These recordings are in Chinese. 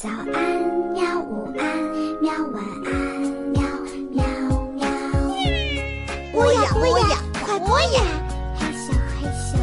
早安喵，午安喵，晚安喵喵喵。 播呀播呀，快播呀！ 嘿咻嘿咻。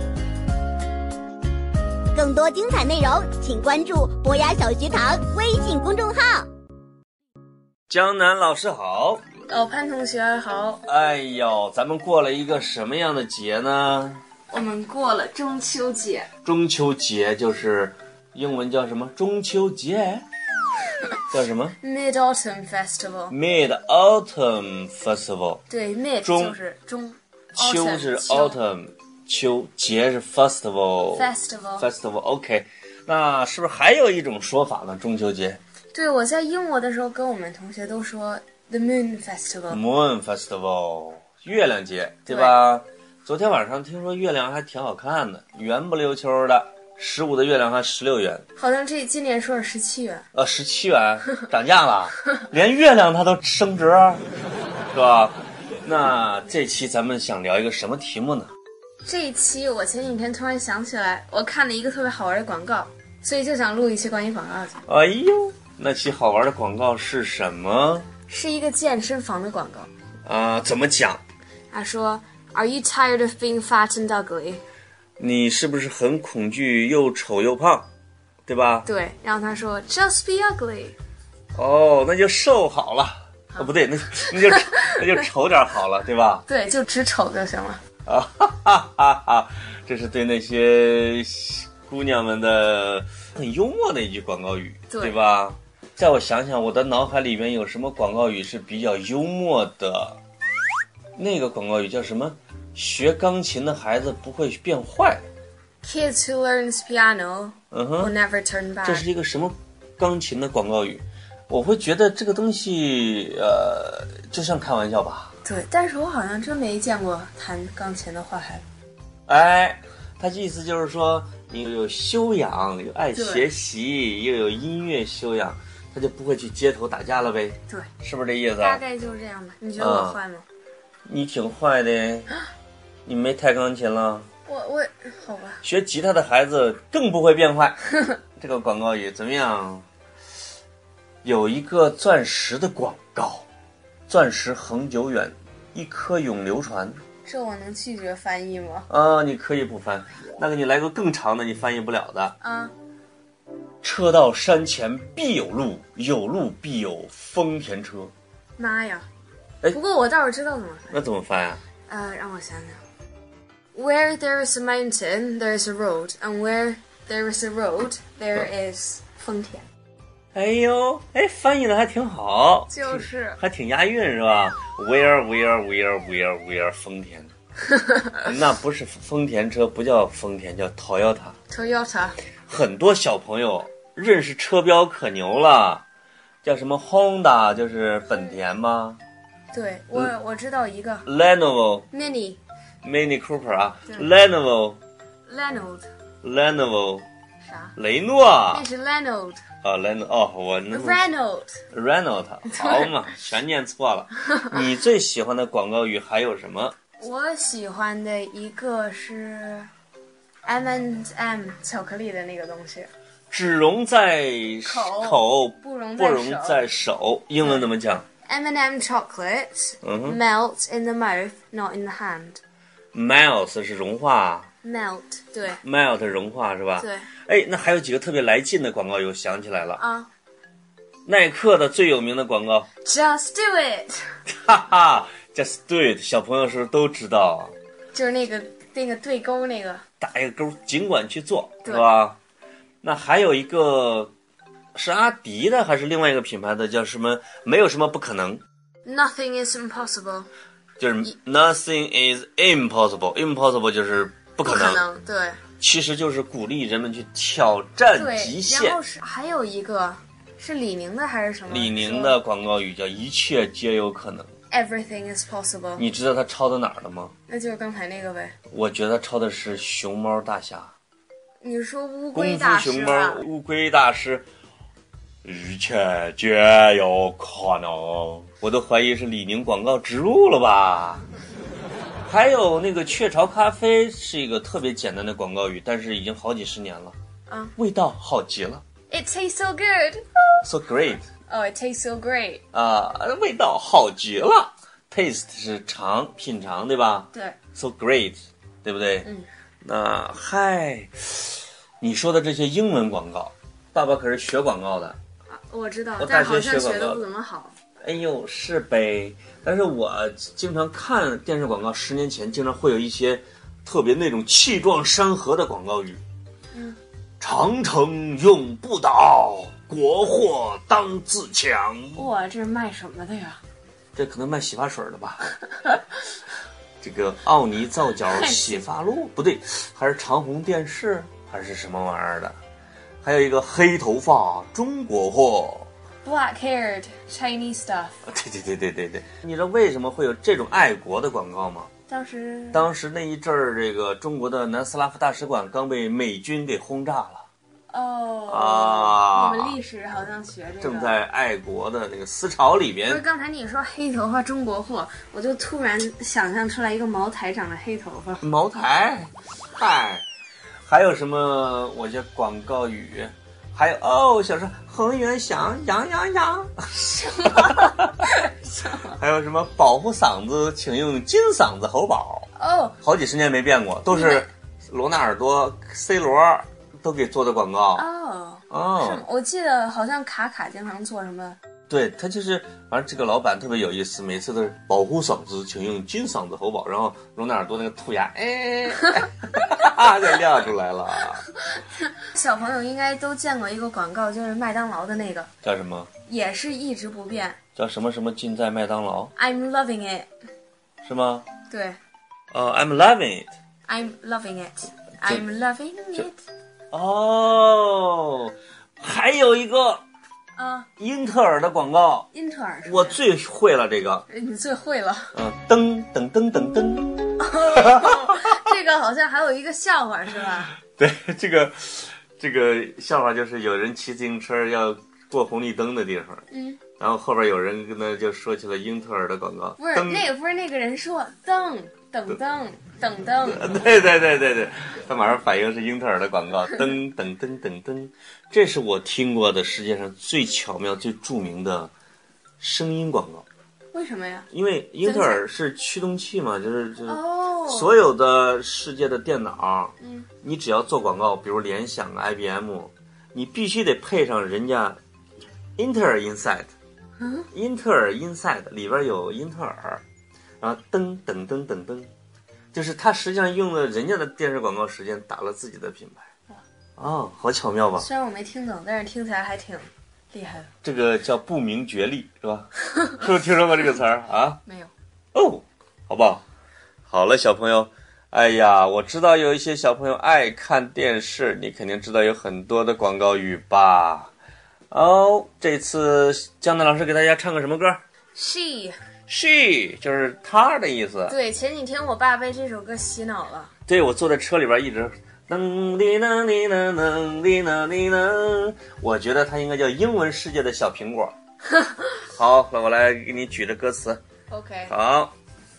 更多精彩内容，请关注博雅小学堂微信公众号。 江南老师好， 老潘同学好。 哎呦，咱们过了一个什么样的节呢？ 我们过了中秋节。 中秋节就是英文叫什么？中秋节叫什么 Mid-Autumn Festival。 Mid-Autumn Festival。 对， Mid 就是中， 秋是 Autumn， 秋，节是 Festival。 Festival OK， 那是不是还有一种说法呢？中秋节对，我在英国的时候跟我们同学都说 The Moon Festival。 Moon Festival， 月亮节，对吧？昨天晚上听说月亮还挺好看的，圆不溜秋的，15的月亮还16元， 好像今年说是17元。 17元，涨价了，连月亮它都升值，是吧？那这期咱们想聊一个什么题目呢？ 这一期我前几天突然想起来，我看了一个特别好玩的广告，所以就想录一期关于广告的。 哎呦，那期好玩的广告是什么？ 是一个健身房的广告。 怎么讲？ 他说 Are you tired of being fat and ugly？ 你是不是很恐惧又丑又胖，对吧？ 对，然后他说 Just be ugly。 哦，那就瘦好了。不对，那就丑点好了，对吧？ 对，就只丑就行了。 哈哈哈哈！这是对那些姑娘们的很幽默的一句广告语， 对吧？在我想想，我的脑海里面有什么广告语是比较幽默的？那个广告语叫什么？学钢琴的孩子不会变坏。 Kids who learns piano will never turn back。 这是一个什么钢琴的广告语？我会觉得这个东西，就像开玩笑吧。 对，但是我好像真没见过弹钢琴的坏孩子。 哎，他意思就是说，你有修养，有爱学习，又有音乐修养，他就不会去街头打架了呗。 对， 是不是这意思？ 大概就是这样吧。你觉得我坏吗？ 你挺坏的，你没弹钢琴了。 我好吧。 学吉他的孩子更不会变坏。这个广告语怎么样？有一个钻石的广告，钻石恒久远，一颗永流传。 这我能拒绝翻译吗？ 你可以不翻，那个你来个更长的，你翻译不了的。车到山前必有路，有路必有丰田车。 妈呀！不过我倒是知道怎么翻。 那怎么翻呀？ 让我想想。Where there is a mountain, there is a road, and where there is a road, there is 丰田。 哎呦，翻译的还挺好， 就是还挺押韵是吧 ？Where 丰田，那不是丰田车，不叫丰田，叫 Toyota。很多小朋友认识车标可牛了，叫什么 Honda， 就是本田吗？ 对，我知道一个 Lenovo Mini Cooper 啊 Lenovo 啥？ 雷诺， 那是 Renault。 我那 Renault 好嘛，全念错了。你最喜欢的广告语还有什么？ 我喜欢的一个是 M&M 巧克力的那个东西， 只溶在口， 不溶在手。英文怎么讲？ M&M chocolates melt in the mouth, not in the hand。 Melt 是融化。 Melt 对 Melt 融化是吧？ 对。 那还有几个特别来劲的广告语，我想起来了。耐克的最有名的广告 Just do it。 哈哈 Just do it， 小朋友是不是都知道？ 就是那个对勾那个， 打一个勾，尽管去做，是吧？那还有一个是阿迪的还是另外一个品牌的，叫什么？没有什么不可能。 Nothing is impossible， 就是 Nothing is impossible 就是不可能。 对， 其实就是鼓励人们去挑战极限。 然后还有一个是李宁的还是什么？ 李宁的广告语叫一切皆有可能。 Everything is possible。 你知道他抄的哪儿的吗？ 那就是刚才那个呗。 我觉得他抄的是熊猫大侠。 你说乌龟大师？ 功夫熊猫乌龟大师，一切皆有可能。我都怀疑是李宁广告植入了吧。还有那个雀巢咖啡是一个特别简单的广告语，但是已经好几十年了。味道好极了。 It tastes so good. So great. Oh, it tastes so great. 味道好极了。Taste 是尝品尝，对吧？ 对。 So great， 对不对？那嗨，你说的这些英文广告，爸爸可是学广告的。 我知道， 我大但好像学学广告学的不怎么好。 哎呦，是呗。但是我经常看电视广告，10年前经常会有一些特别那种气壮山河的广告语。长城永不倒，国货当自强。 哇，这是卖什么的呀？ 这可能卖洗发水的吧。这个奥尼皂角洗发露不对，还是长虹电视还是什么玩意儿的？还有一个黑头发中国货。 Black-haired Chinese stuff。 对，你知道为什么会有这种爱国的广告吗？当时那一阵儿，这个中国的南斯拉夫大使馆刚被美军给轰炸了。 我们历史好像学这个。 正在爱国的那个思潮里边。 不是，刚才你说黑头发中国货，我就突然想象出来一个茅台长的黑头发。 茅台，嗨，还有什么？我这广告语。还有小时候恒源祥羊，还有什么保护嗓子，请用金嗓子喉宝。好几十年没变过，都是罗纳尔多、C 罗都给做的广告。 是我记得好像卡经常做什么。 对，他就是，反正这个老板特别有意思，每次都是保护嗓子，请用金嗓子喉宝，然后罗纳尔多那个兔牙，就亮出来了。 小朋友应该都见过一个广告，就是麦当劳的那个， 叫什么？ 也是一直不变， 叫什么什么尽在麦当劳。 I'm loving it， 是吗？ 对。 I'm loving it。 I'm loving it。I'm loving it。 还有一个。英特尔的广告。 英特尔， 我最会了这个。 你最会了。 噔噔噔噔噔。 这个好像还有一个笑话是吧？ 对，这个笑话就是有人骑自行车要过红绿灯的地方，然后后边有人跟他就说起了英特尔的广告。 不是那个人说噔噔噔噔噔。 对，他马上反应是英特尔的广告，噔噔噔噔噔。这是我听过的世界上最巧妙、最著名的声音广告。 为什么呀？ 因为英特尔是驱动器嘛，就是所有的世界的电脑，你只要做广告，比如联想、IBM， 你必须得配上人家英特尔 Inside， 英特尔 Inside 里边有英特尔，然后噔噔噔噔噔，就是他实际上用了人家的电视广告时间打了自己的品牌。好巧妙吧？ 虽然我没听懂，但是听起来还挺厉害的。 这个叫不明觉厉，是吧？是不是听说过这个词儿啊？ 没有。 好不好？好了，小朋友，哎呀，我知道有一些小朋友爱看电视，你肯定知道有很多的广告语吧？这次江南老师给大家唱个什么歌？ She 就是她的意思。 对，前几天我爸被这首歌洗脑了。 对，我坐在车里边一直能哩能哩能能哩能哩能，我觉得它应该叫英文世界的小苹果。好，那我来给你举着歌词。 OK。 好。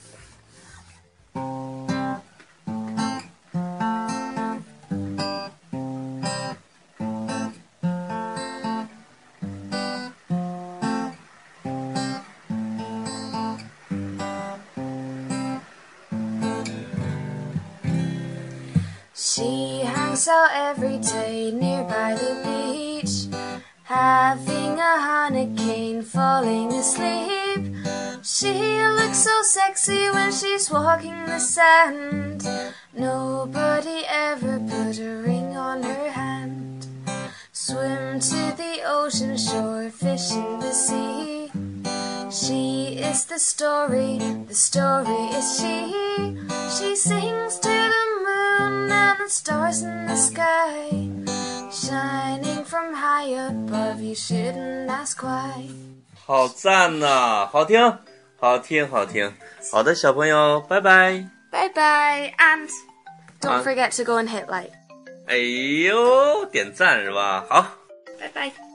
She hangs out every day nearby the beach, having a hurricane, falling asleep. She looks so sexy when she's walking the sand. Nobody ever put a ring on her hand. Swim to the ocean shore, fish in the sea. She is the story is she. She sings to the moon and the stars in the sky, shining from high above, you shouldn't ask why. 好赞呐，好听，好听，好听。好的，小朋友，拜拜。 Bye bye, and don't forget to go and hit like. 哎呦，点赞是吧？好， 拜拜。